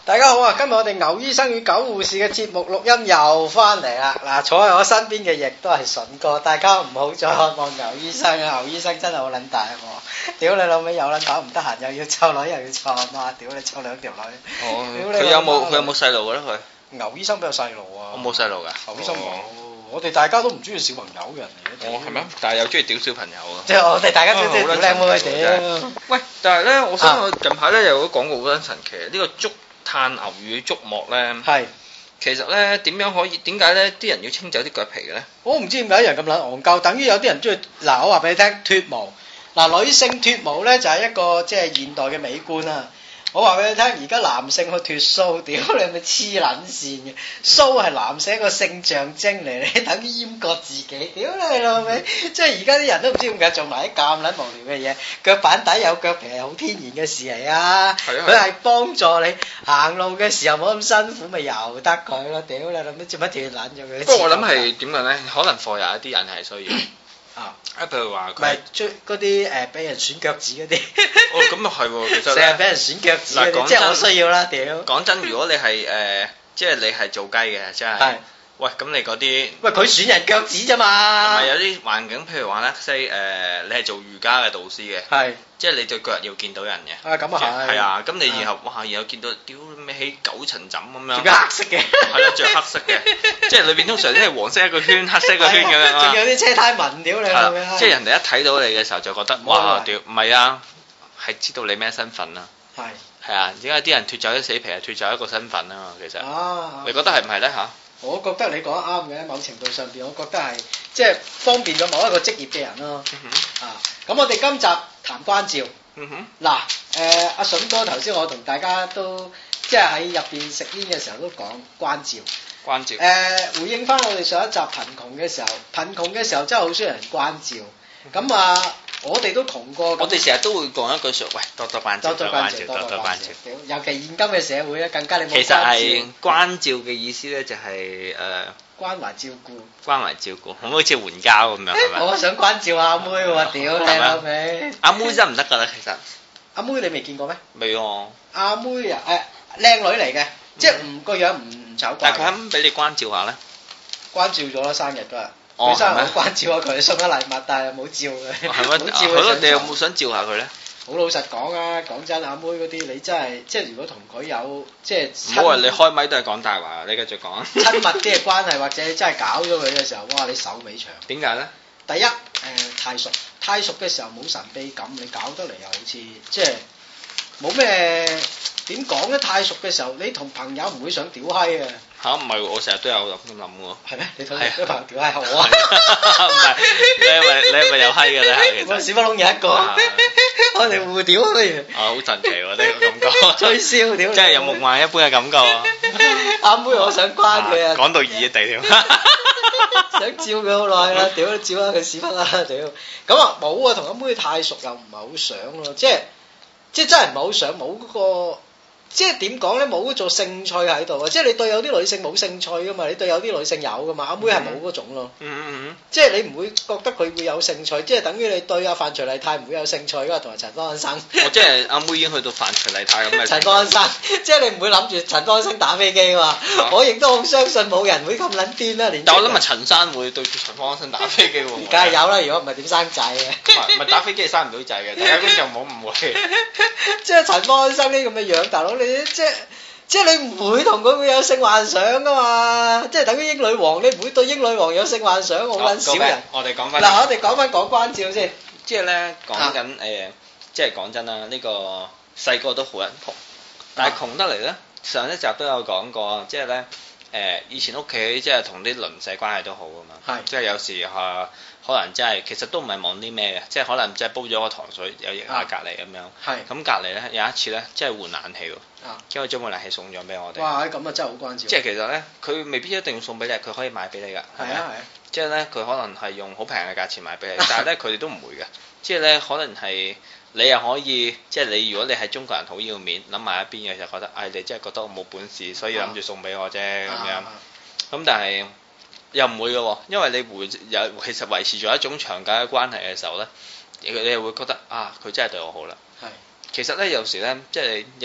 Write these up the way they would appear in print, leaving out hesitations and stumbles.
大家好啊！今日我哋牛醫生與狗護士嘅節目錄音又翻嚟啦。嗱，坐喺我身邊嘅亦都係筍哥。大家唔好再渴望牛醫生啊！牛醫生真係好撚大喎！屌你老味有撚搞唔得閒，又要湊女又要湊阿媽，屌你湊兩條女。 哦，佢有冇細路嘅咧？佢牛醫生邊有細路啊？ 我冇細路㗎。 牛醫生冇。我哋大家都唔中意小朋友嘅人嚟嘅。 哦，係咩？但係又中意屌小朋友啊！ 即係我哋大家都中意屌靚妹屌。 喂，但係咧，我想我近排咧有個廣告好撚神奇，呢個竹炭牛乳竹膜咧，係其實咧點解咧啲人要清走啲腳皮嘅咧？我唔知點解啲人咁撚戇鳩，等於有啲人中意嗱，我話俾你聽脫毛嗱，女性脫毛咧就係一個即係現代嘅美觀啊！我話俾你聽，而家男性去脫鬚，屌你係咪黐撚線嘅？鬚係男性一個性象徵嚟，你等於閹割自己，屌你老味！即係而家啲人都唔知點解做埋啲咁撚無聊嘅嘢，腳板底有腳皮係好天然嘅事嚟啊！佢係幫助你行路嘅時候冇咁辛苦，咪由得佢咯，屌你老味！做乜斷撚咗佢？不過我諗係點講咧？可能貨有一啲人係需要。啊！譬如話佢咪追嗰啲俾人選腳趾嗰啲。哦，咁又係喎，其實成日俾人選腳趾嗰啲，即係我需要啦，屌！講真，如果你係即係你係做雞嘅，真係。係。喂，咁你嗰啲，喂佢選人腳趾啫嘛。係咪有啲環境？譬如話咧，say 你係做瑜伽嘅導師嘅，係，即係你對腳要見到人嘅。啊，咁啊係。係啊，咁你然後哇，然後見到屌咩起9層枕咁樣。著黑色嘅。係咯，著黑色嘅，即係裏邊通常都係黃色一個圈，黑色一個圈咁樣啊。仲有啲車胎紋屌你係咪？即係人哋一睇到你嘅時候就覺得哇屌，唔係啊，係知道你咩身份啊。係。係啊，點解啲人脫走啲死皮係脫走一個身份啊嘛？其實。啊。你覺得係唔係咧嚇？我覺得你講得啱嘅，某程度上邊，我覺得係即係方便咗某一個職業嘅人咯。啊，咁我哋今集談關照。嗱，阿筍哥頭先我同大家都即係喺入邊食煙嘅時候都講關照。關照。回應翻我哋上一集貧窮嘅時候，貧窮嘅時候真係好需要人關照。咁啊。我哋都窮過，我哋成日都會講一句説，喂，多多關照，多多關照，多多關照。尤其現今嘅社會咧，更加你冇關照。其實係關照嘅意思咧，就係關懷照顧。關懷照顧，可唔可以好似援交咁樣？係咪？我想關照阿妹喎，屌你老味！阿妹真係唔得㗎啦，其實。阿妹你未見過咩？未喎。阿妹啊，靚女嚟嘅，即係個樣唔醜怪。但係佢肯唔肯俾你關照下咧？關照咗啦，生日嗰日。佢生日我關照下佢，送咗禮物，但係冇照佢。係咩？冇照佢。你有冇想照下佢咧？好老實講啊，講真，阿妹嗰啲你真係，即係如果同佢有即係。唔好話你開咪都係講大話，你繼續講。親密啲嘅關係，或者真係搞咗佢嘅時候，哇！你手尾長。點解咧？第一，太熟嘅時候冇神秘感，你搞得嚟又好似即係冇咩點講咧？太熟嘅時候，你同朋友唔會想屌閪嘅。嚇唔係，我成日都有咁諗喎。係咩？你同啲朋友屌閪我啊？唔係，你係咪有閪嘅咧？其實屎窟窿有一個，我哋互屌不如。啊，好神奇喎！呢個感覺。吹簫屌！真係有夢幻一般嘅感覺啊！阿妹，我想關佢啊！講到熱地添。想照佢好耐啦，屌都照下佢屎忽啦，屌！咁啊冇啊，同阿妹太熟又唔係好想咯，即係真係唔係好想，冇嗰個。即係點講咧？冇嗰種興趣喺度啊！即係你對有啲女性冇興趣噶嘛？你對有啲女性有噶嘛？阿妹係冇嗰種咯。即係你唔會覺得佢會有興趣，即係等於你對阿范徐麗泰唔會有興趣噶，同埋陳方安生。即係阿妹已經去到范徐麗泰咁嘅。陳方安生，即係你唔會諗住陳方安生打飛機噶嘛？我亦都好相信冇人會咁撚癲啦！但我諗咪陳生會對住陳方安生打飛機喎。梗係有啦，如果唔係點生仔嘅？唔係打飛機係生唔到仔嘅，大家觀眾唔好誤會。即係陳方安生呢咁嘅樣，大佬你即係你唔會同佢會有性幻想噶嘛？即係等於英女王，你唔會對英女王有性幻想，好撚少人。我哋講翻嗱，我哋講翻講關照先。即係咧講緊即係講真啦，呢個細個都好撚窮，但係窮得嚟咧，上一集都有講過，即係咧以前屋企即係同啲鄰舍關係都好噶嘛，即係有時可能真係其實都唔係望啲咩嘅，即係可能即係煲咗個糖水有液下隔離咁樣，咁隔離咧有一次咧即係換冷氣喎，因為將部冷氣送咗俾我哋。哇！咁啊真係好關照。即係其實咧，佢未必一定要送俾你，佢可以買俾你㗎。係啊係。即係咧，佢可能係用好平嘅價錢買俾你，但係咧佢哋都唔會嘅。即係咧，可能係你又可以，即係你如果你係中國人好要面，諗埋一邊嘅就覺得，你真係覺得我冇本事，所以諗住送俾我啫咁樣。咁但係又唔會嘅喎，因為你其實維持咗一種長久嘅關係嘅時候咧，你又會覺得佢真係對我好啦。係。其實咧有時咧，即係有時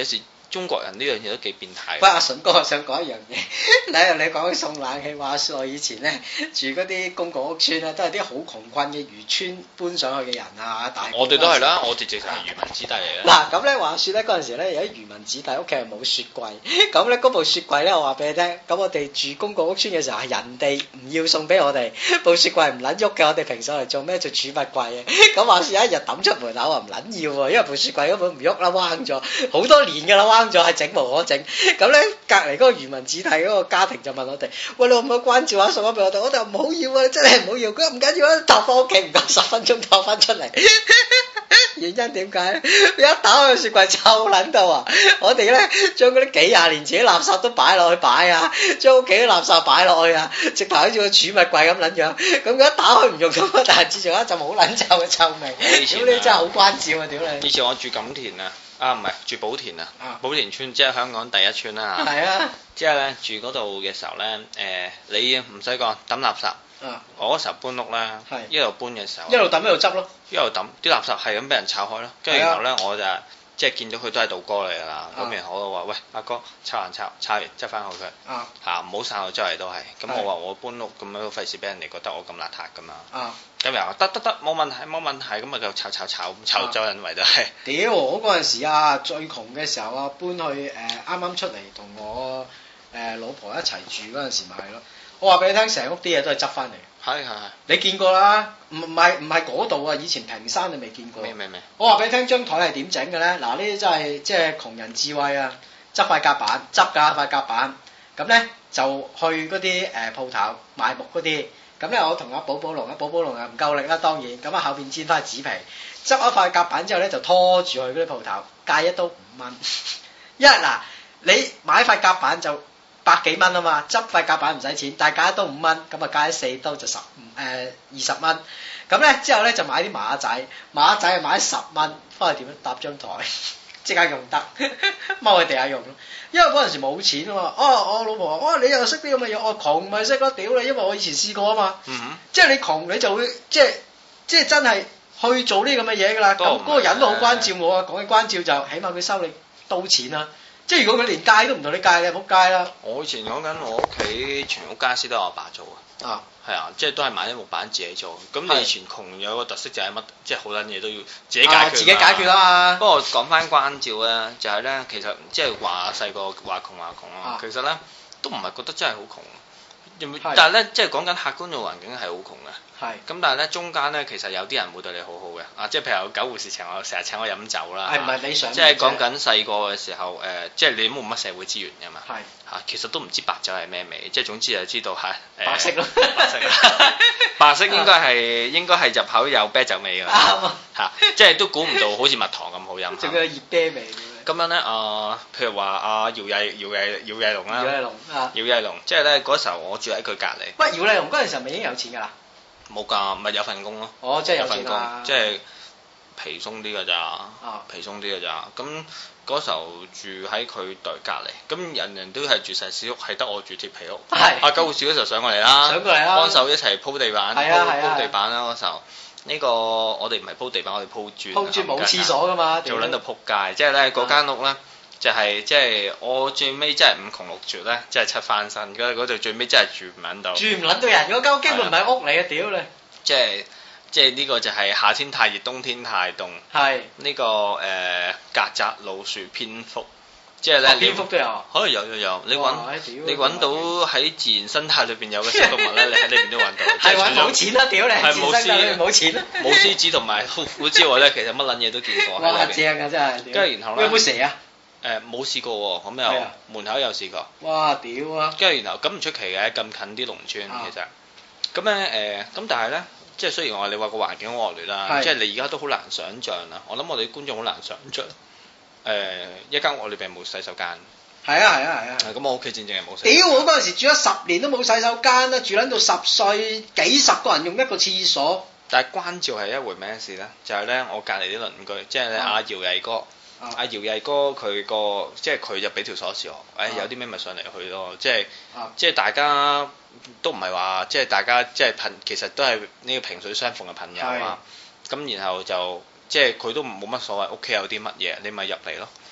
中國人呢樣嘢都幾變態。 喂，阿順哥，我想講一樣嘢，你講起送冷氣，話說我以前咧住嗰啲公共屋邨咧，都係啲好窮困嘅漁村搬上去嘅人啊， 我哋都係啦，我哋直情係漁民子弟嚟嘅。 嗱咁咧話說咧嗰陣時咧有啲漁民子弟屋企係冇雪櫃，咁咧嗰部雪櫃咧我話俾你聽，咁我哋住公共屋邨嘅時候係人哋唔要送俾我哋，部雪櫃唔撚喐嘅，我哋平時嚟做咩做儲物櫃嘅，咁話說有一日抌出門口話唔撚要喎，因為部雪櫃根本唔喐啦，彎咗好多年㗎啦，彎咗係整無可整，咁咧隔離嗰個漁民子弟嗰個家庭就問我哋，喂，你可唔可以關照下送咗俾我哋？我哋唔好要啊，真係唔好要，佢話唔緊要啊，搭翻屋企唔夠10分鐘搭翻出嚟。原因點解咧？一打開個雪櫃臭撚到啊！我哋咧將嗰啲幾廿年前啲垃圾都擺落去擺啊，將屋企啲垃圾擺落去啊，直頭好似個儲物櫃咁撚樣。咁佢一打開唔用咁，但係自從一陣好撚臭嘅臭味。屌你真係好關照啊！屌你！ 以前我住錦田啊，唔係住寶田啊，寶田村即係香港第一村啦。係啊。即係咧住嗰度嘅時候咧，你唔使講抌垃圾。我嗰時候搬屋咧，一路搬嘅時候， 一路抌一路執咯， 一路抌啲垃圾係咁俾人炒開咯，跟住然後咧我就即係見到佢都係道哥嚟㗎啦，咁然後我就話喂，阿哥抄完執翻好佢，嚇唔好散到周圍都係，咁我話我搬屋咁樣費事俾人哋覺得我咁邋遢㗎嘛，咁又話得冇問題，咁啊就炒周人圍都係。 屌我嗰陣時啊最窮嘅時候啊搬去啱啱出嚟同我老婆一齊住嗰陣時咪係咯。我話俾你聽，成屋啲嘢都係執翻嚟。係。你見過啦？唔係嗰度啊！以前平山你未見過。未。我話俾你聽，張台係點整嘅咧？嗱，呢啲真係即係窮人智慧啊！執塊夾板，執㗎塊夾板。咁咧就去嗰啲鋪頭賣木嗰啲。咁咧我同阿寶寶龍又唔夠力啦，當然。咁啊後邊煎翻紙皮，執一塊夾板之後咧就拖住去嗰啲鋪頭，價一刀5蚊。因為嗱，你買塊夾板就100幾蚊啊嘛，執塊夾板唔使錢，但係加一刀5蚊，咁啊加一4刀就20蚊。咁咧之後咧就買啲馬仔啊買10蚊，翻去點樣搭張台，即刻用得，踎喺地下用咯。因為嗰陣時冇錢啊嘛，我老婆話，你又識啲咁嘅嘢，我窮咪識咯，屌你，因為我以前試過啊嘛，即係你窮你就會即係真係去做呢咁嘅嘢㗎啦。咁嗰個人都好關照我啊，講起關照就起碼佢收你刀錢啦。即係如果佢連戒都唔同你戒，你仆街啦！我以前講緊我屋企全屋家私都係我爸做啊，係啊，即係都係買啲木板自己做。咁你以前窮有個特色就係乜，即係好撚嘢都要自己解決。自己解決啦嘛。不過講翻關照咧，就係咧，其實即係話細個話窮啊，其實咧都唔係覺得真係好窮。但係咧，即係講緊客觀嘅環境係好窮嘅。係。咁但係咧，中間咧其實有啲人會對你好好嘅。即係譬如有狗護士成日請我飲酒啦。係唔係你想？即係講緊細個嘅時候，即係你都冇乜社會資源㗎嘛。係。其實都唔知白酒係咩味，即係總之就知道係白色咯。白色應該係入口有啤酒味㗎。啱即係都估唔到好似蜜糖咁好飲。仲有熱啤味。咁樣咧，譬如話阿姚藝龍啦，姚藝龍，即係咧嗰時候我住喺佢隔離。喂，姚藝龍嗰陣時候咪已經有錢㗎啦？冇㗎，咪有份工咯。哦，即係有份工，即係皮鬆啲㗎咋，皮鬆啲㗎咋。咁嗰時候住喺佢對隔離，咁人都係住石屎屋，係得我住鐵皮屋。係。阿九護士嗰時候上過嚟啦，幫手一齊鋪地板，鋪地板啦嗰時候。呢個我哋唔係鋪地板，我哋鋪磚。鋪磚冇廁所㗎嘛，做撚到撲街。即係咧嗰間屋咧，就係即係我最尾真係5窮6絕咧，即係7翻身。嗰度最尾真係住唔撚到。住唔撚到人，嗰間屋基本唔係屋嚟嘅，屌你！即係呢個就係夏天太熱，冬天太凍。係。呢個曱甴、老鼠、蝙蝠。即係咧，蝙蝠都有，可能有，你揾到喺自然生態裏邊有嘅小動物咧，你喺呢邊都揾到。係揾冇錢啦，屌你！係冇錢啦。冇獅子同埋虎之外咧，其實乜撚嘢都見過。哇！正啊，真係。跟住然後咧，有冇蛇啊？冇試過喎，咁又門口有試過。哇！屌啊！跟住然後咁唔出奇嘅，咁近啲農村其實。咁咧咁但係咧，即係雖然你話個環境惡劣啦，即係你而家都好難想像啦。我諗我哋啲觀眾好難想像。一間屋裏邊冇洗手間。係啊。咁我屋企正係冇洗手間。屌！我嗰陣時住咗10年都冇洗手間啦，住撚到10歲，幾十個人用一個廁所。但係關照係一回咩事咧？就係咧，我隔離啲鄰居，即係咧阿姚毅哥，阿姚毅哥佢個即係佢就俾條鎖匙我，有啲咩咪上嚟去咯，即係大家都唔係話即係大家即係其實都係呢個萍水相逢嘅朋友啊。咁然後就。即係佢都冇乜所謂，屋企有啲乜嘢，你咪入嚟咯。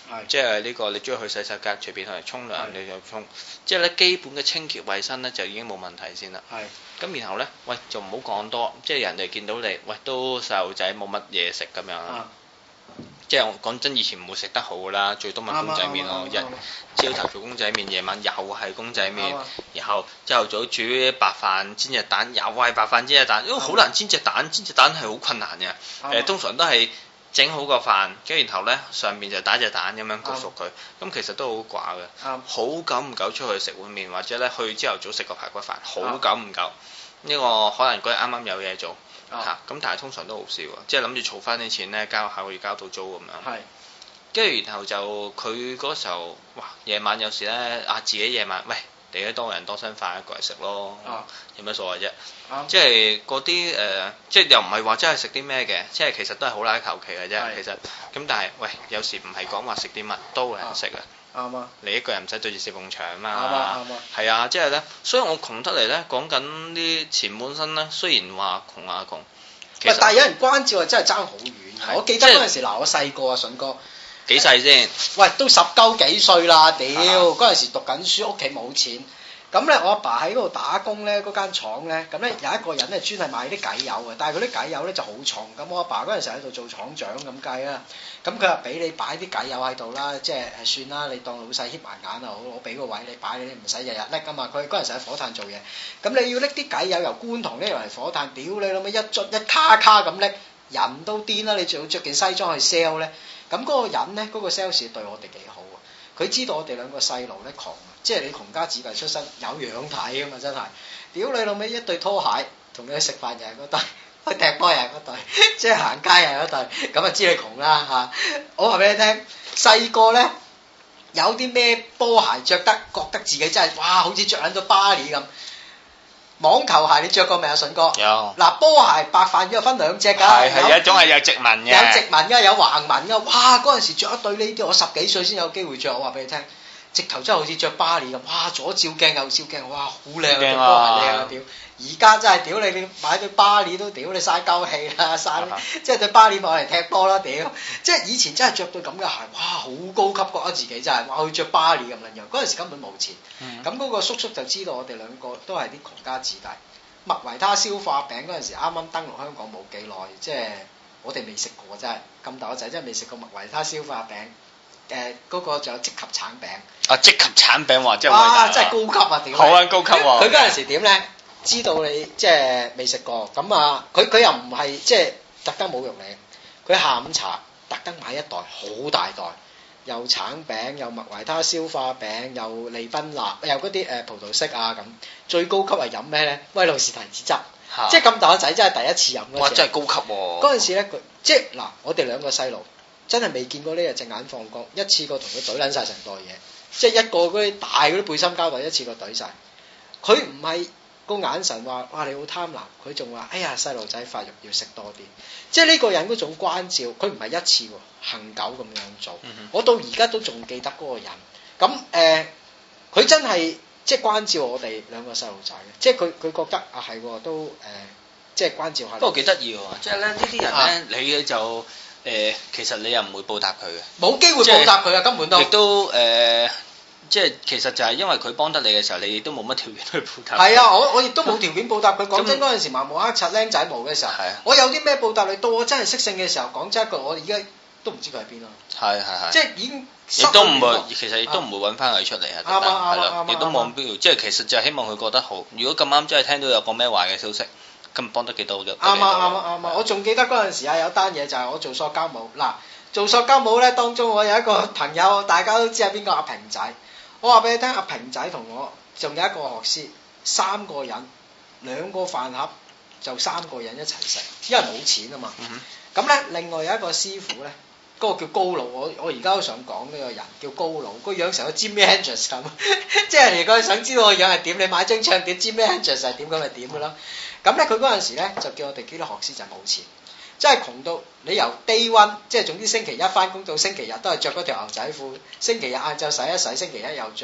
即係呢個你中意去洗手間隨便去沖涼你就沖，即係咧基本嘅清潔衞生咧就已經冇問題先啦。咁然後咧，喂就唔好講多，即係人哋見到你，喂都細路仔冇乜嘢食咁樣啦。即係我講真，以前唔會食得好噶啦，最多咪公仔麵咯，朝頭做公仔麵，夜晚又係公仔麵，然後朝頭早煮白飯煎隻蛋，又係白飯煎隻蛋，因為好難煎隻蛋，煎隻蛋係好困難嘅。通常都係整好個飯，跟住然後咧上面就打隻蛋咁樣焗熟佢，咁其實都好寡嘅。好久唔久出去食碗麵，或者咧去朝頭早食個排骨飯，好久唔久。呢個可能嗰日啱啱有嘢做。咁但係通常都好少啊，即係諗住儲翻啲錢咧，交下個月交到租咁樣。跟住然後就佢嗰時候，哇！夜晚有時咧自己夜晚，喂，你都多人多身飯一個人食咯，有咩所謂啫？即係嗰啲即係又唔係話真係食啲咩嘅，即係其實都係好拉求其嘅啫。其實咁但係喂，有時唔係講話食啲乜都有人食啊。啱啊！你一個人唔使對住四埲牆啊嘛。係啊，即係咧，所以我窮得嚟咧，講緊啲前半生咧，雖然話窮啊窮， 但係有人關照係真係爭好遠。我記得嗰陣時我細個啊，筍哥幾細先？ 喂，都10鳩幾歲啦，屌！嗰陣時讀緊書，屋企冇錢。咁咧，我阿爸喺嗰度打工咧，嗰間廠咧，咁咧有一個人咧專係賣啲偈油嘅，但係嗰啲偈油咧就好重。咁我阿爸嗰陣時喺度做廠長咁計啦，咁佢話俾你擺啲偈油喺度啦，即係算啦，你當老細瞌埋眼啊好，我俾個位你擺，你唔使日日拎噶嘛。佢嗰陣時喺火炭做嘢，咁你要拎啲偈油由觀塘拎嚟火炭，屌你老味一樽一卡卡咁拎，人都癲啦！你仲要着件西裝去 sell 咧，咁嗰個人咧，嗰個 sales 對我哋幾好啊！佢知道我哋兩個細路咧窮。即係你窮家子弟出身，有樣睇噶嘛，真係！屌你老味一對拖鞋，同你去食飯又係嗰對，去踢波又係嗰對，即係行街又係嗰對，咁啊知你窮啦嚇！我話俾你聽，細個咧有啲咩波鞋着得，覺得自己真係哇，好似着緊咗巴黎咁。網球鞋你着過未啊，順哥？有。嗱，波鞋白飯要分兩隻㗎。係有一種係有直紋嘅。有直紋㗎，有橫紋㗎。哇！嗰陣時着一對呢啲，我10幾歲先有機會着。我話俾你聽。直頭真係好似着巴黎咁，哇！左照鏡右照鏡，哇！好靚啊，對波鞋靚啊，屌！而家真係屌你買對巴黎都屌你嘥鳩氣啦，嘥即係對巴黎買嚟踢波啦，屌！即係以前真係着對咁嘅鞋，哇！好高級覺得自己真係，哇！去着巴黎咁樣樣，嗰陣時根本冇錢。咁嗰個叔叔就知道我哋兩個都係啲窮家子弟。麥維他消化餅嗰陣時啱啱登陸香港冇幾耐，即係我哋未食過真係，咁大個仔真係未食過麥維他消化餅。嗰個仲有即及橙餅，即及橙餅話真係哇，真係高級啊！屌，好啊，高級喎！佢嗰陣時點咧？知道你即係未食過，咁啊，佢又唔係即係特登侮辱你，佢下午茶特登買一袋好大袋，又橙餅，又麥維他消化餅，又利賓納，又嗰啲葡萄適啊咁。最高級係飲咩咧？威露士提子汁，即係咁大個仔真係第一次飲嗰陣。哇！真係高級喎！嗰陣時咧，佢即係嗱，我哋兩個細路。真係未見過呢日隻眼放光，一次過同佢懟撚晒成袋嘢，即係一個嗰啲大嗰啲背心膠袋一次過懟晒。佢唔係個眼神話哇你好貪婪，佢仲話哎呀細路仔發育要食多啲，即係呢個人嗰種關照，佢唔係一次喎，恆久咁樣做。我到而家都仲記得嗰個人。咁佢真係即係關照我哋兩個細路仔嘅，即係佢覺得啊係都即係關照下。不過幾得意喎，即係咧呢啲人咧，你就。其實你又唔會報答佢嘅，冇機會報答佢啊！根本都亦都即係其實就係因為佢幫得你嘅時候，你亦都冇乜條件去報答。係啊，我亦都冇條件報答佢。講真嗰陣時盲毛黑擦僆仔毛嘅時候，我有啲咩報答你？到我真係識性嘅時候，講真一句，我而家都唔知佢喺邊咯。係，即係已經亦都唔會，其實亦都唔會揾翻佢出嚟啊！啱係啦，亦都冇必要。即係其實就係希望佢覺得好。如果咁啱真係聽到有個咩壞嘅消息。咁幫得幾多嘅？啱啊！我仲記得嗰陣時啊，有單嘢就係我做塑膠帽。嗱，做塑膠帽咧，當中我有一個朋友，大家都知係邊個，阿平仔。我話俾你聽，阿平仔同我仲有一個學師，3個人，2個飯盒就3個人一齊食，因為冇錢啊嘛。咁咧，另外有一個師傅咧，嗰個叫高佬，我而家都想講呢個人叫高佬，個樣成個 Jimi Hendrix 咁，即係如果想知道個樣係點，你買張唱碟 Jimi Hendrix 係點咁咪點嘅咯。咁咧，佢嗰陣時咧就叫我哋幾多學師就冇錢，真係窮到你由 day one， 即係總之星期一翻工到星期日都係着嗰條牛仔褲，星期日晏晝洗一洗，星期一又着。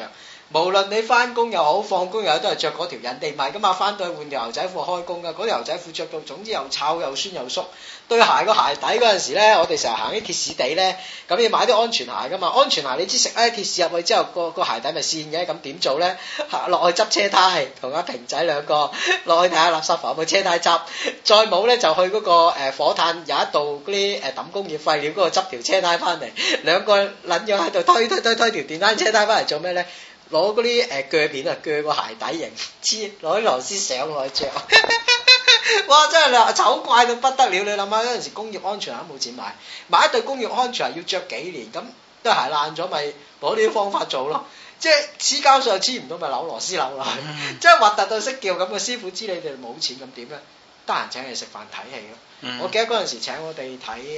無論你翻工又好，放工又好，都係着嗰條，人哋唔係噶嘛，翻到去換條牛仔褲開工噶，嗰條牛仔褲着到總之又臭又酸又縮。對鞋個鞋底嗰陣時咧，我哋成日行啲鐵屎地咧，咁要買啲安全鞋噶嘛，安全鞋你知食鐵屎入去之後，個鞋底咪跣嘅，咁點做咧？落去執車胎，同阿平仔兩個落去睇下垃圾房，部車胎執，再冇咧就去嗰個火炭有一度嗰啲抌工業廢料嗰度執條車胎翻嚟，兩個撚樣喺度推條電單車胎翻嚟做咩咧？攞嗰啲鋸片啊，鋸個鞋底型，攞啲螺絲上落去着。哇！真係醜怪到不得了，你諗下嗰陣時工業安全鞋都冇錢買，買一對工業安全鞋要着幾年，咁對鞋爛咗咪攞呢啲方法做咯，即係黐膠水又黐唔到咪扭螺絲扭落去，即係核突到識叫咁個師傅知你哋冇錢咁點咧？得閒請你食飯睇戲咯。我記得嗰陣時請我哋睇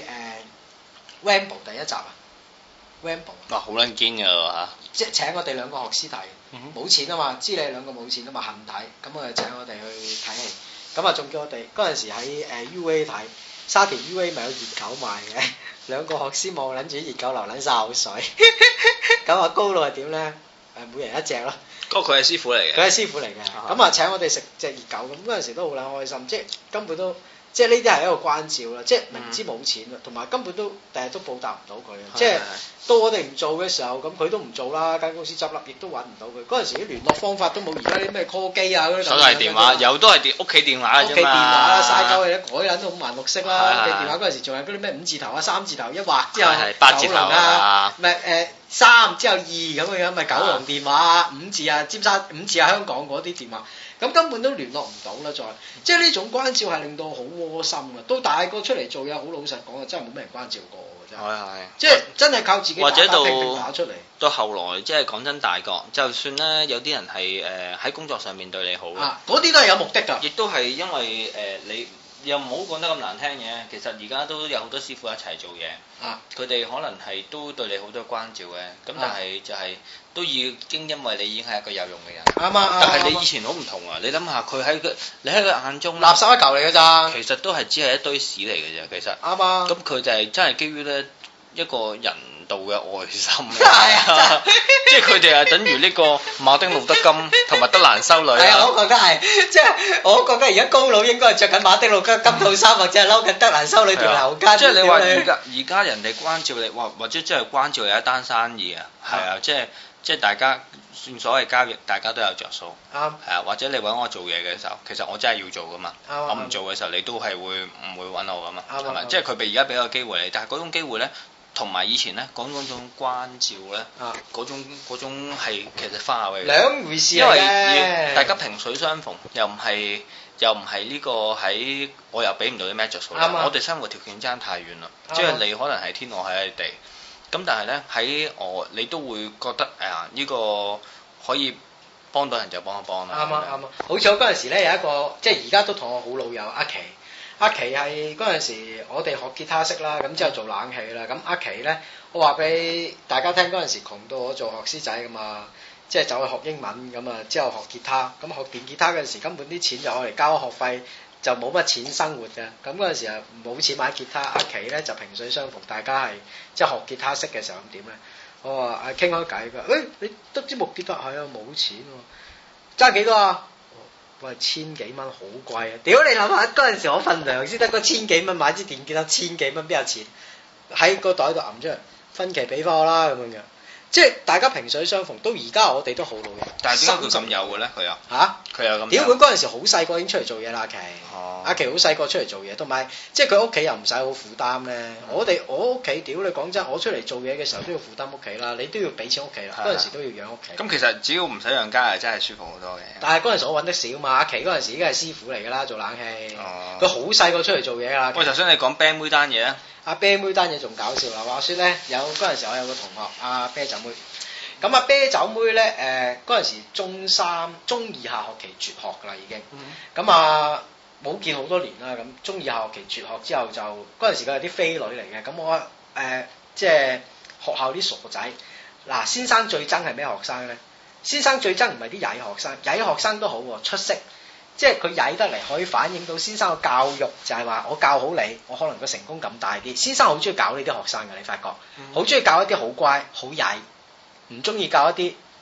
Rambo 第一集啊 ，Rambo 哇好撚堅㗎嚇， 即係請我哋兩個學師睇，冇錢啊嘛，知你兩個冇錢啊嘛，恨睇，咁我就請我哋去睇戲。咁啊，仲叫我哋嗰陣時喺UA 睇，沙田 UA 咪有熱狗賣嘅，兩個學師望撚住啲熱狗流撚晒口水，咁啊高佬係點咧？每人一隻咯。 嗰個佢係師傅嚟嘅。 佢係師傅嚟嘅，咁啊請我哋食隻熱狗，咁嗰陣時都好撚開心，即係根本都。即係呢啲係一個關照啦，即係明知冇錢啦，同埋根本都第日都報答唔到佢，即係到我哋唔做嘅時候，咁佢都唔做啦，間公司執笠，亦都揾唔到佢。嗰陣時啲聯絡方法都冇而家啲咩 call 機啊嗰啲。手提電話有都係屋企電話啫嘛。屋企電話啦，嘥鳩嘅，改撚到五顏六色啦。屋企電話嗰陣時仲有嗰啲咩5字頭啊、3字頭一劃之後 8字頭啊， 唔係3之後2咁嘅樣，咪九龍電話啊，5字啊尖沙5字啊香港嗰啲電話。咁根本都聯絡唔到啦，即係呢種關照係令到好窩心啊！到大個出嚟做嘢，好老實講啊，真係冇咩人關照過嘅真係。即係真係靠自己打拼打出嚟。 到後來即係講真大個，就算咧有啲人係喺工作上面對你好， 嗰啲都係有目的㗎。 亦都係因為你又唔好講得咁難聽嘅，其實而家都有好多師傅一齊做嘢，佢哋可能係都對你好多關照嘅，咁但係就係。都已經因為你已經係一個有用嘅人，但係你以前好唔同啊！你諗下佢你喺佢眼中垃圾一嚿嚟㗎咋， 其實都係只係一堆屎嚟嘅啫，其實。 啱啊！ 咁佢就係真係基於咧一個人道嘅愛心，即係佢哋係等於呢個馬丁路德金同埋德蘭修女。 係啊，我覺得係，即係我覺得而家高佬應該係着緊馬丁路德金套衫，或者係嬲緊德蘭修女條頭巾。 即係你話而家人哋關照你，或者即係關照你一單生意啊，係啊，即係大家算所謂交易，大家都有着數。係啊，或者你揾我做嘢嘅時候，其實我真係要做噶嘛。我唔做嘅時候，你都係唔會揾我噶嘛。係咪？即係佢而家俾個機會你，但係嗰種機會咧，同埋以前咧講嗰種關照咧，嗰種係其實花嘅兩回事。 因為大家萍水相逢，又唔係呢個喺我又俾唔到啲咩着數。我哋生活條件爭太遠啦，即係你可能係天，我喺你地。咁但係咧喺你都會覺得呢個可以幫到人就幫一幫啦。啱啊！ 好似我嗰陣時咧有一個，即係而家都同我好老友阿琪係嗰陣時我哋學吉他識啦，咁之後做冷氣啦。咁阿琪咧，我話俾大家聽嗰陣時窮到我做學師仔噶嘛，即係走去學英文咁啊，之後學吉他，咁學電吉他嗰陣時根本啲錢就攞嚟交學費。就冇乜錢生活嘅，咁嗰陣時啊冇錢買吉他，阿琪咧就萍水相逢，大家係即係學吉他識嘅時候咁點咧？我話傾開偈㗎，你得支木吉他係啊冇錢喎，爭幾多啊？喂，1000幾蚊好貴啊！屌你諗下嗰陣時我份糧先得嗰1000幾蚊買支電吉他，1000幾蚊邊有錢？喺個袋度揞出嚟，分期俾翻我啦咁樣嘅。即係大家萍水相逢，到而家我哋都好老友。 但係點解佢咁有嘅咧？佢又佢又咁。 屌佢嗰陣時好細個已經出嚟做嘢啦，阿琪。阿琪好細個出嚟做嘢，同埋即係佢屋企又唔使好負擔咧。我屋企屌你講真，我出嚟做嘢嘅時候都要負擔屋企啦，你都要俾錢屋企啦。嗰陣時都要養屋企。 咁其實只要唔使養家係真係舒服好多嘅。 但係嗰陣時我揾得少嘛，阿琪嗰陣時已經係師傅嚟㗎啦，做冷氣。佢好細個出嚟做嘢㗎。 喂，頭先你講啤妹單嘢啊？ 阿啤妹單嘢仲搞笑啦！話説咧，嗰陣時我有個同學阿啤酒妹，咁阿啤酒妹咧嗰陣時中2下學期絕學㗎啦已經，咁冇見好多年啦，咁中2下學期絕學之後就嗰陣時佢係啲飛女嚟嘅，咁我即係學校啲傻仔，嗱先生最憎係咩學生咧？先生最憎唔係啲曳學生，曳學生都好喎，出色。即係佢曳得嚟，可以反映到先生嘅教育就係話，我教好你，我可能個成功感大啲。先生好中意教呢啲學生嘅，你發覺好中意教一啲好乖、好曳，唔中意教一啲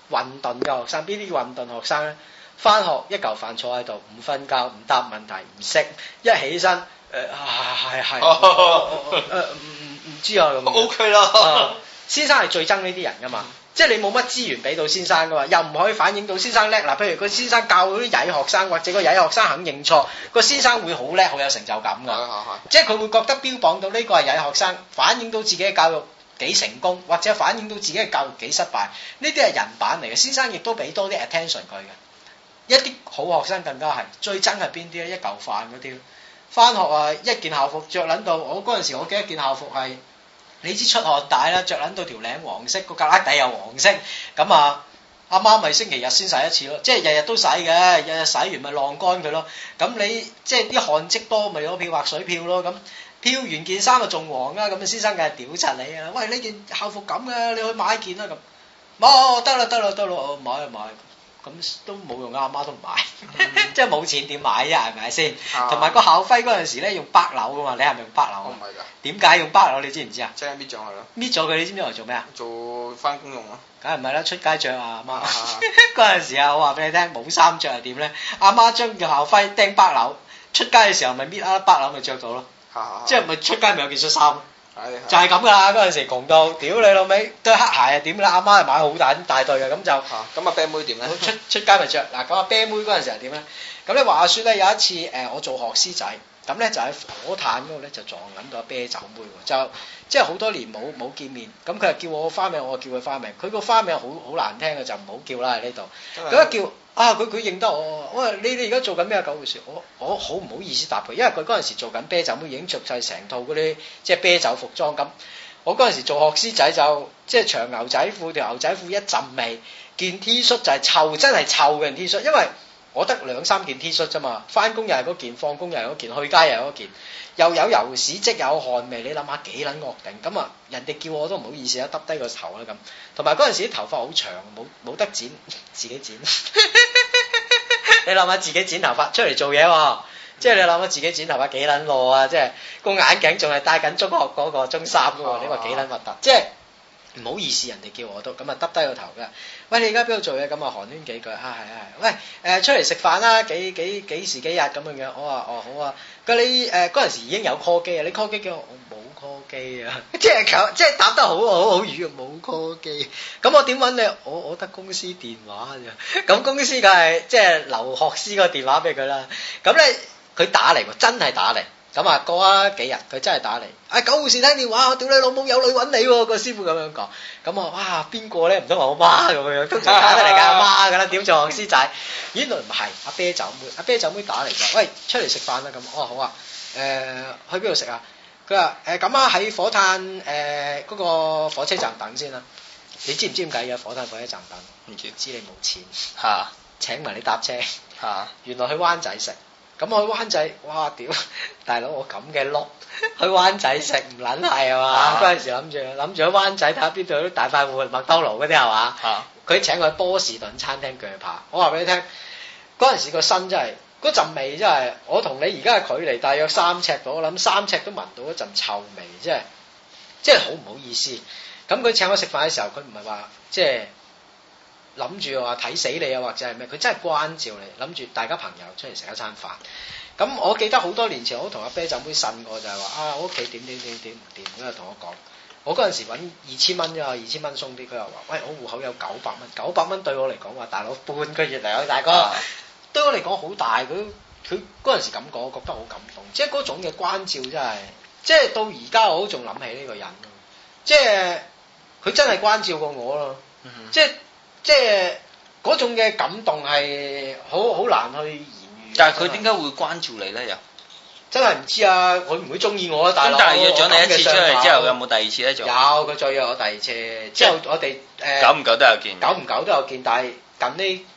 混沌嘅學生，邊啲叫混沌學生咧？翻學一嚿飯坐喺度，唔瞓覺，唔答問題，唔識，一起身係唔知啊咁。 OK 啦。 先生係最憎呢啲人噶嘛，即係你冇乜資源俾到先生噶嘛，又唔可以反映到先生叻。嗱，譬如個先生教嗰啲曳學生，或者個曳學生肯認錯，個先生會好叻，好有成就感噶。即係佢會覺得標榜到呢個係曳學生，反映到自己嘅教育幾成功，或者反映到自己嘅教育幾失敗。呢啲係人版嚟嘅，先生亦都俾多啲 attention 佢嘅。一啲好學生更加係最憎係邊啲咧？一嚿飯嗰啲，翻學啊一件校服着撚到，我嗰陣時我記得一件校服係，你知出汗帶啦，着撚到條領黃色，個格拉底又黃色，咁啊阿媽咪星期日先洗一次咯，即係日日都洗嘅，日日洗完咪晾乾佢咯。咁你即係啲汗漬多，咪攞漂白水漂咯。咁漂完件衫就仲黃啊，咁先生梗係屌柒你啊！喂，呢件校服咁嘅，你去買件啦咁。冇，得啦，我買啊買。咁都冇用啊，阿媽都唔買，即係冇錢點買啫，係咪先？同埋個校徽嗰陣時咧用北樓噶嘛，你係咪用北樓啊？唔係㗎。點解用北樓？你知唔知啊？即係搣咗佢咯。搣咗佢，你知唔知嚟做咩啊？做翻工用咯。梗係唔係啦，出街着啊，阿媽。嗰陣時啊，我話俾你聽，冇衫着係點咧？阿媽將個校徽釘北樓，出街嘅時候咪搣啊北樓咪着到咯。即係咪出街咪有件恤衫？就係咁噶啦，嗰陣時窮到，屌你老味，對黑鞋啊點啦？阿媽係買好大對嘅，咁就咁啤妹點咧？出街咪着嗱，咁啤妹嗰陣時係點咧？咁咧話説咧有一次我做學師仔，咁咧就喺火炭嗰度咧就撞緊到啤酒妹喎，就即係好多年冇見面，咁佢就叫我花名，我叫佢花名，佢個花名好難聽嘅，就唔好叫啦喺呢度，咁一叫。佢認得我，我話你哋而家做緊咩啊？九回事，我好唔好意思答佢，因為佢嗰陣時做緊啤酒妹，已經着晒成套嗰啲即係啤酒服裝咁。我嗰陣時做學師仔就即係長牛仔褲，條牛仔褲一陣味，件 T 恤就係臭，真係臭嘅 T 恤，因為我得2-3件 T 恤啫嘛，翻工又係嗰件，放工又係嗰件，去街又係嗰件，又有油屎跡，有汗味，你諗下幾撚惡定？咁啊，人哋叫我都唔好意思啊，耷低個頭啦咁。同埋嗰陣時啲頭髮好長，冇得剪，自己剪。你諗下自己剪頭髮出嚟做嘢喎，即係你諗下自己剪頭髮幾撚攞啊！即係個眼鏡仲係戴緊中學嗰個中三嘅喎，你話幾撚核突？即係唔好意思，人哋叫我都咁啊，耷低個頭嘅。喂，你而家邊度做嘢？咁啊，寒暄幾句啊，係。喂，出嚟食飯啦，幾時幾日咁樣樣？我話好啊。佢你嗰陣時已經有 call 機啊？你 call 機叫我冇 call 機啊？即係答得好語啊，冇 call 機。咁我點揾你？我得公司電話啫。咁公司梗係即係留學師個電話俾佢啦。咁咧佢打嚟喎，真係打嚟。咁啊過咗幾日，佢真係打嚟。九護士聽電話，我屌你老母有女揾你喎，個師傅咁樣講。咁啊哇邊個咧？唔通我媽咁樣？通常打得嚟㗎阿媽㗎啦，點做學師仔？原來唔係阿啤酒妹，阿啤酒妹打嚟㗎。喂，出嚟食飯啦咁。我話好啊。去邊度食啊？佢話咁啊喺火炭嗰個火車站等先啦。你知唔知點解嘅？火炭火車站等？唔知你冇錢嚇，請埋你搭車嚇。原來去灣仔食。咁我去灣仔，哇屌！大佬我咁嘅碌去灣仔食唔撚係啊嘛？嗰陣時諗住喺灣仔睇下邊度有啲大快活麥當勞嗰啲係嘛？佢請我去波士頓餐廳鋸扒。我話俾你聽，嗰陣時個身真係嗰陣味真係，我同你而家嘅距離大約3尺度，我諗3尺都聞到一陣臭味，即係好唔好意思。咁佢請我食飯嘅時候，佢唔係話即係諗住話睇死你啊，或者係咩？佢真係關照你，諗住大家朋友出嚟食一餐飯。咁我記得好多年前，我同阿啤酒妹呻過，就係話我屋企點唔掂，咁就同我講，我嗰陣時揾2000蚊啫嘛，2000蚊鬆啲，佢又話喂，我戶口有900蚊對我嚟講話大佬半個月嚟啊，大哥，對我嚟講好大，佢嗰陣時咁講，我覺得好感動，即係嗰種嘅關照真係，即係到而家我都仲諗起呢個人，即係佢真係關照過我咯，即係嗰種嘅感動係好難去言喻。 但係佢點解會關照你咧？又真係唔知啊！佢唔會中意我啊，大佬。咁但係約咗你一次出嚟之後，有冇第二次咧？仲有佢再約我第二次，之後我哋久唔久都有見。 久唔久都有見，但係近呢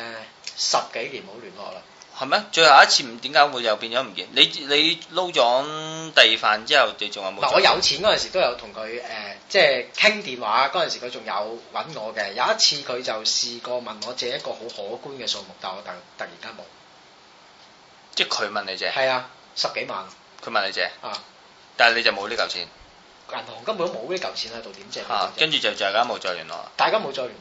10幾年冇聯絡啦。 係咩？最後一次點解會又變咗唔見？你撈咗第二飯之後，你仲有冇？ 嗱，我有錢嗰陣時都有同佢即係傾電話，嗰陣時佢仲有揾我嘅。有一次佢就試過問我借一個好可觀嘅數目，但我突然間冇。 即係佢問你借？係啊，10幾萬。 佢問你借啊， 但係你就冇呢嚿錢。 銀行根本都冇呢嚿錢喺度，點借？ 跟住就大家冇再聯絡啦。 大家冇再聯絡啦。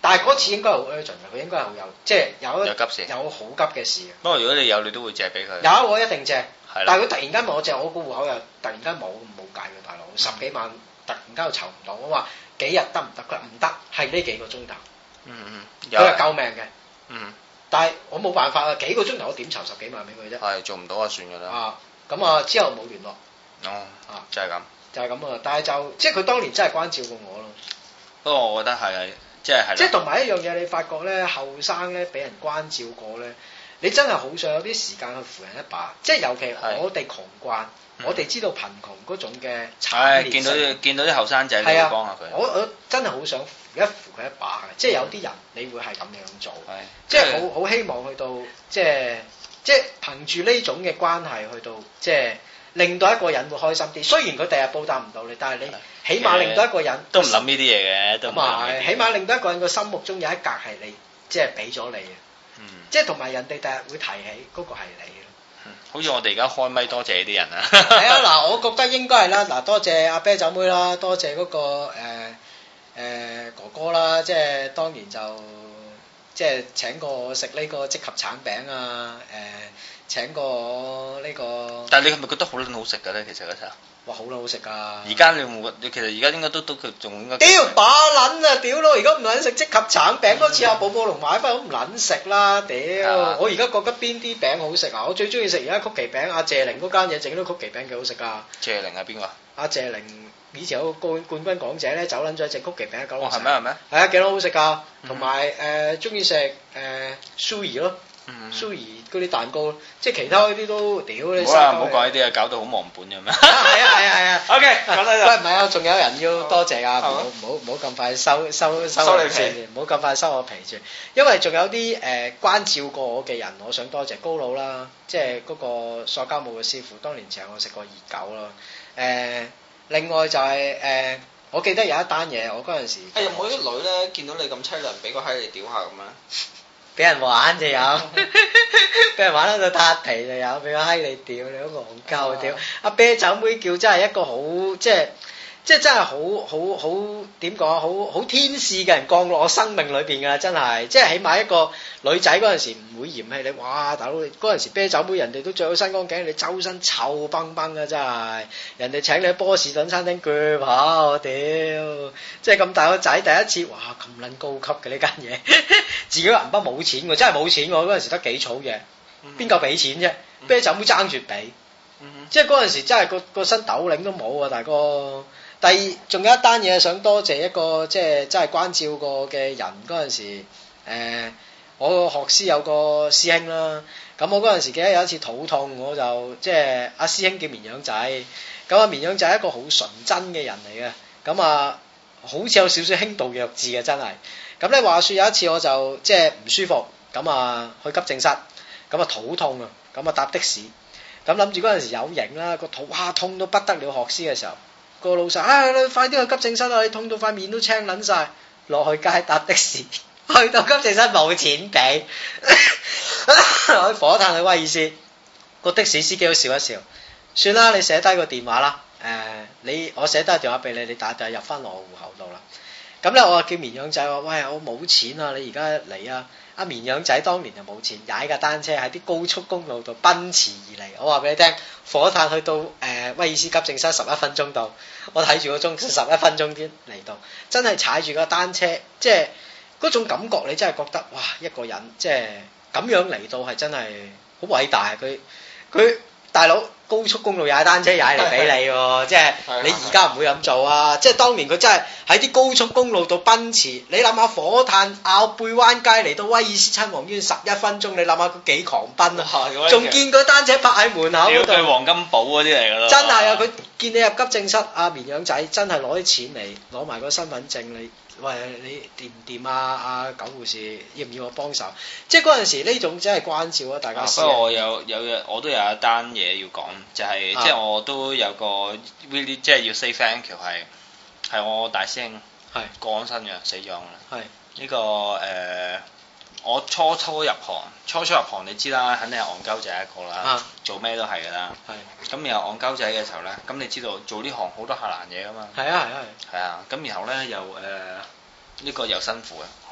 但係嗰次應該係好 urgent 嘅，佢應該係好有，即係有急事， 有好急嘅事。 不過如果你有，你都會借俾佢。 有，我一定借。 係。 但係佢突然間問我借，我個戶口又突然間冇計嘅，大佬10幾萬突然間又籌唔到，我話幾日得唔得？佢話唔得，係呢幾個鐘頭。佢話救命嘅。但係我冇辦法啊，幾個鐘頭我點籌10幾萬俾佢啫？係做唔到啊，算㗎啦。 咁啊之後冇聯絡。 就係咁。就係咁啊！但係就即係佢當年真係關照過我咯。 不過我覺得係即係同埋一樣嘢，你發覺咧後生咧俾人關照過咧，你真係好想有啲時間去扶人一把。即係尤其我哋窮慣，我哋知道貧窮嗰種嘅慘烈。 見到啲後生仔，你會幫下佢。 我真係好想扶佢一把嘅。即係有啲人你會係咁樣做，即係好希望去到即係憑住呢種嘅關係去到即係。令到一個人會開心啲，雖然佢第日報答唔到你，但係你起碼令到一個人都唔諗呢啲嘢嘅，都唔係， 起碼令到一個人個心目中有一格係你，即係俾咗你嘅，即係同埋人哋第日會提起嗰個係你咯。 好似我哋而家開咪多謝呢啲人啊。 係啊，嗱，我覺得應該係啦，嗱，多謝阿啤酒妹啦，多謝嗰個哥哥啦，即係當年就即係請過我食呢個即合橙餅啊，請過我呢個， 但係你係咪覺得好撚好食㗎咧？其實嗰時候， 哇，好撚好食㗎！ 而家你其實而家應該都佢仲應該。 屌把撚啊！屌咯！而家唔撚食即合橙餅，嗰次阿寶寶龍買翻都唔撚食啦！屌！我而家覺得邊啲餅好食啊？我最中意食而家曲奇餅，阿謝玲嗰間嘢整啲曲奇餅幾好食㗎。謝玲係邊個？ 阿謝玲以前有個冠軍港姐咧，走撚咗隻曲奇餅喺九龍城。 係咩係咩？ 係啊，幾多好食㗎！同埋中意食蘇兒咯。蘇兒嗰啲蛋糕，即係其他嗰啲都屌你！ 唔好講呢啲啊，搞到好忘本咁樣。 係啊 OK， 講啦。喂，唔係啊，仲有人要多謝啊！唔好咁快收你皮，唔好咁快收我皮住。因為仲有啲關照過我嘅人，我想多謝高佬啦，即係嗰個塑膠舞嘅師傅，當年請我食過熱狗啦。另外就係我記得有一單嘢，我嗰陣時有冇啲女咧見到你咁淒涼，俾個閪你屌下咁樣？ 俾人玩就有，俾人玩到撻皮就有，俾個閪你屌，你好戇鳩屌！阿啤酒妹叫真係一個好即係真係好點講好天使嘅人降落我生命裏邊㗎，真係即係起碼一個女仔嗰陣時唔會嫌棄你，哇大佬你嗰陣時啤酒妹人哋都着到新光頸，你周身臭崩崩㗎真係，人哋請你去波士頓餐廳鋸跑，屌！即係咁大個仔第一次，哇咁撚高級嘅呢間嘢，自己銀包冇錢喎，真係冇錢喎，嗰陣時得幾草嘢，邊夠俾錢啫？啤酒妹爭住俾，即係嗰陣時真係個身斗領都冇啊，大哥！第二仲有一單嘢想多謝一個即係真係關照過嘅人嗰陣時，我學師有個師兄啦，咁我嗰陣時記得有一次肚痛，我就即係阿師兄叫綿羊仔，咁阿綿羊仔係一個好純真嘅人嚟嘅，咁啊好似有少少輕度弱智嘅真係，咁咧話說有一次我就即係唔舒服，咁啊去急症室，咁啊肚痛啊，咁啊搭的士，咁諗住嗰陣時有型啦，個肚哇痛到不得了，學師嘅時候。個老細你快啲去急症室啊！你痛到塊面都青撚晒，落去街搭的士，去到急症室冇錢俾，去火炭去威爾斯，個的士司機都笑一笑，算啦，你寫低個電話啦，我寫低個電話俾你，你打入翻落我戶口度啦。咁咧我叫綿羊仔話：喂，我冇錢啊，你而家嚟啊！阿綿羊仔當年就冇錢，踩架單車喺啲高速公路度奔馳而嚟。我話俾你聽，火炭去到威爾斯急症室11分鐘到，我睇住個鐘11分鐘先嚟到，真係踩住個單車，即係嗰種感覺，你真係覺得哇！一個人即係咁樣嚟到係真係好偉大，佢大佬高速公路踩單車踩嚟俾你喎，即係你而家唔會咁做啊！即係當年佢真係喺啲高速公路度奔馳，你諗下火炭坳背灣街嚟到威爾斯親王醫院11分鐘，你諗下佢幾狂奔啊！仲見佢單車泊喺門口嗰度， 黃金寶嗰啲嚟㗎咯。 真係啊！佢見你入急症室，阿綿羊仔真係攞啲錢嚟，攞埋個身份證你。喂，你掂唔掂啊？阿狗護士要唔要我幫手？即係嗰陣時呢種真係關照啊！大家。 不過我都有一單嘢要講，就係即係我都有個 really 即係要 say thank you 係我大師兄過咗身嘅死咗啦。係呢個我初入行你知啦，肯定係戇鳩仔一個啦，做咩都係㗎啦。係咁然後戇鳩仔嘅時候咧，咁你知道做呢行好多下欄嘢㗎嘛。係啊，咁然後咧又呢個又辛苦嘅，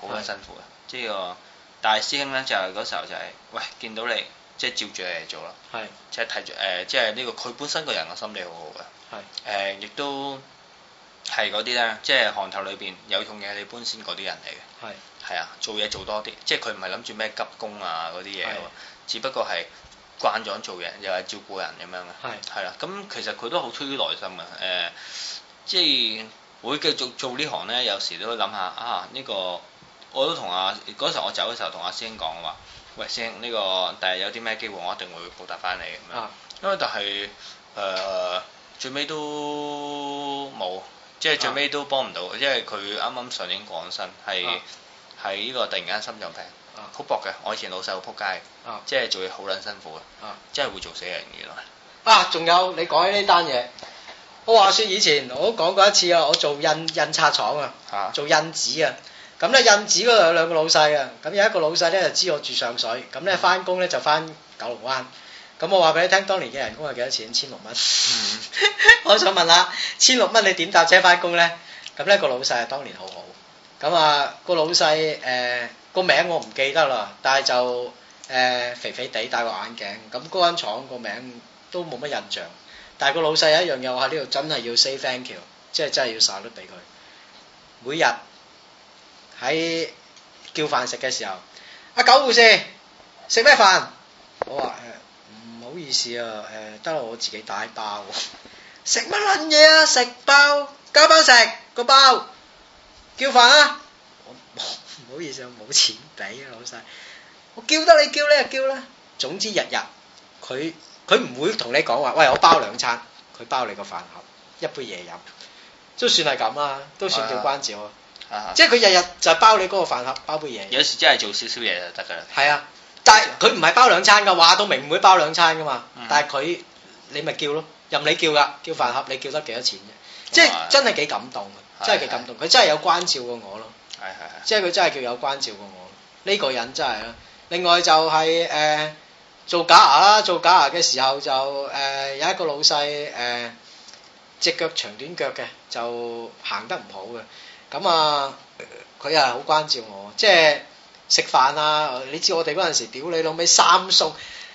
好撚辛苦嘅。即係個大師兄咧就係嗰時候就係喂見到你即係照住你嚟做啦， 係即係睇住即係呢個佢本身個人嘅心理好好嘅，係亦都係嗰啲咧，即係行頭裏邊有痛嘢你搬先嗰啲人嚟嘅，係啊，做嘢做多啲，即係佢唔係諗住咩急功啊嗰啲嘢喎，只不過係慣咗做嘢又係照顧人咁樣嘅，係啦，咁其實佢都好出於內心嘅，即係會繼續做呢行咧，有時都諗下啊呢個。我都同嗰時候我走嘅時候同阿師兄講話，喂師兄呢個第日有啲咩機會我一定會報答翻你咁樣，因為但係最尾都冇，即係最尾都幫唔到，因為佢啱啱上年過身，係呢個突然間心臟病，好薄嘅，我以前老細好撲街，即係做嘢好撚辛苦嘅，即係會做死人原來。 仲有你講起呢單嘢，我話說以前我都講過一次啊，我做印刷廠啊，做印紙啊。咁咧印紙嗰度有兩個老細啊，咁有一個老細咧就知我住上水，咁咧翻工咧就翻九龍灣，咁我話俾你聽，當年嘅人工係幾多錢？1600蚊。我想問下，1600蚊你點搭車翻工咧？咁咧個老細啊當年好好，咁啊個老細個名我唔記得啦，但係就肥肥地戴個眼鏡，咁嗰間廠個名都冇乜印象，但係個老細有一樣嘢我喺呢度真係要 say thank you，即係真係要晒得俾佢，每日。喺叫飯食嘅時候，阿九護士食咩飯？我話唔好意思啊，得啦我自己帶包。食乜撚嘢啊？食包加包食個包，叫飯啊！我唔好意思，我冇錢俾啊老細。我叫得你叫你就叫啦。總之日日佢唔會同你講話，喂我包2餐，佢包你個飯盒，一杯嘢飲，都算係咁啦，都算叫關照啊。即係佢日日就包你嗰個飯盒，包杯嘢。有時真係做少少嘢就得㗎啦。係啊，但係佢唔係包2餐㗎，話到明唔會包2餐㗎嘛。但係佢你咪叫咯，任你叫㗎，叫飯盒你叫得幾多錢啫？即係真係幾感動嘅，真係幾感動。佢真係有關照過我咯。即係佢真係叫有關照過我。呢個人真係啦。另外就係做假牙啦，做假牙嘅時候就有一個老細隻腳長短腳嘅，就行得唔好嘅。咁啊，佢又係好關照我，即係食飯啊！你知我哋嗰陣時，屌你老味3餸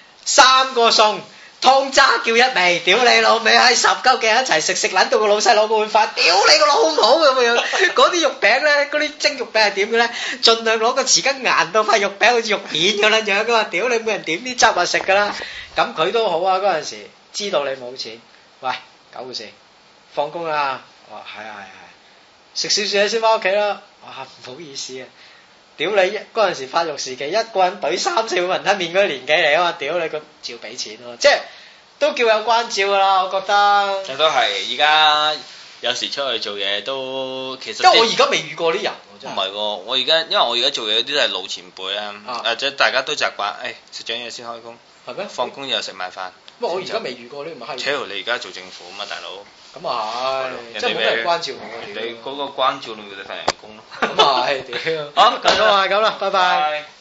，3個餸，湯渣叫一味，屌你老味喺10鳩嘅一齊食撚到個老細攞個碗飯，屌你個老母咁樣！嗰啲肉餅咧，嗰啲蒸肉餅係點嘅咧？盡量攞個匙羹硬到塊肉餅好似肉片咁撚樣噶嘛！屌你每人點啲汁啊食噶啦！咁佢都好啊，嗰陣時知道你冇錢，喂9護士放工啦，我話係啊。食少少嘢先翻屋企啦，哇唔好意思啊！屌你嗰陣時發育時期，一個人懟3-4碗雲吞麵嗰啲年紀嚟啊嘛！屌你個照俾錢咯，即係都叫有關照噶啦，我覺得。都係，而家有時出去做嘢都其實。因為我而家未遇過啲人喎，真係。唔係喎，我而家因為我而家做嘢啲都係老前輩啦，即係大家都習慣，食咗嘢先開工。係咩？放工又食埋飯。不過我而家未遇過呢咁嘅閪。扯你而家做政府啊嘛，大佬。咁啊係，即係冇咩人關照我。你嗰個關照你咪就份人工咯。咁啊係，屌。好，咁啊咁啦，拜拜。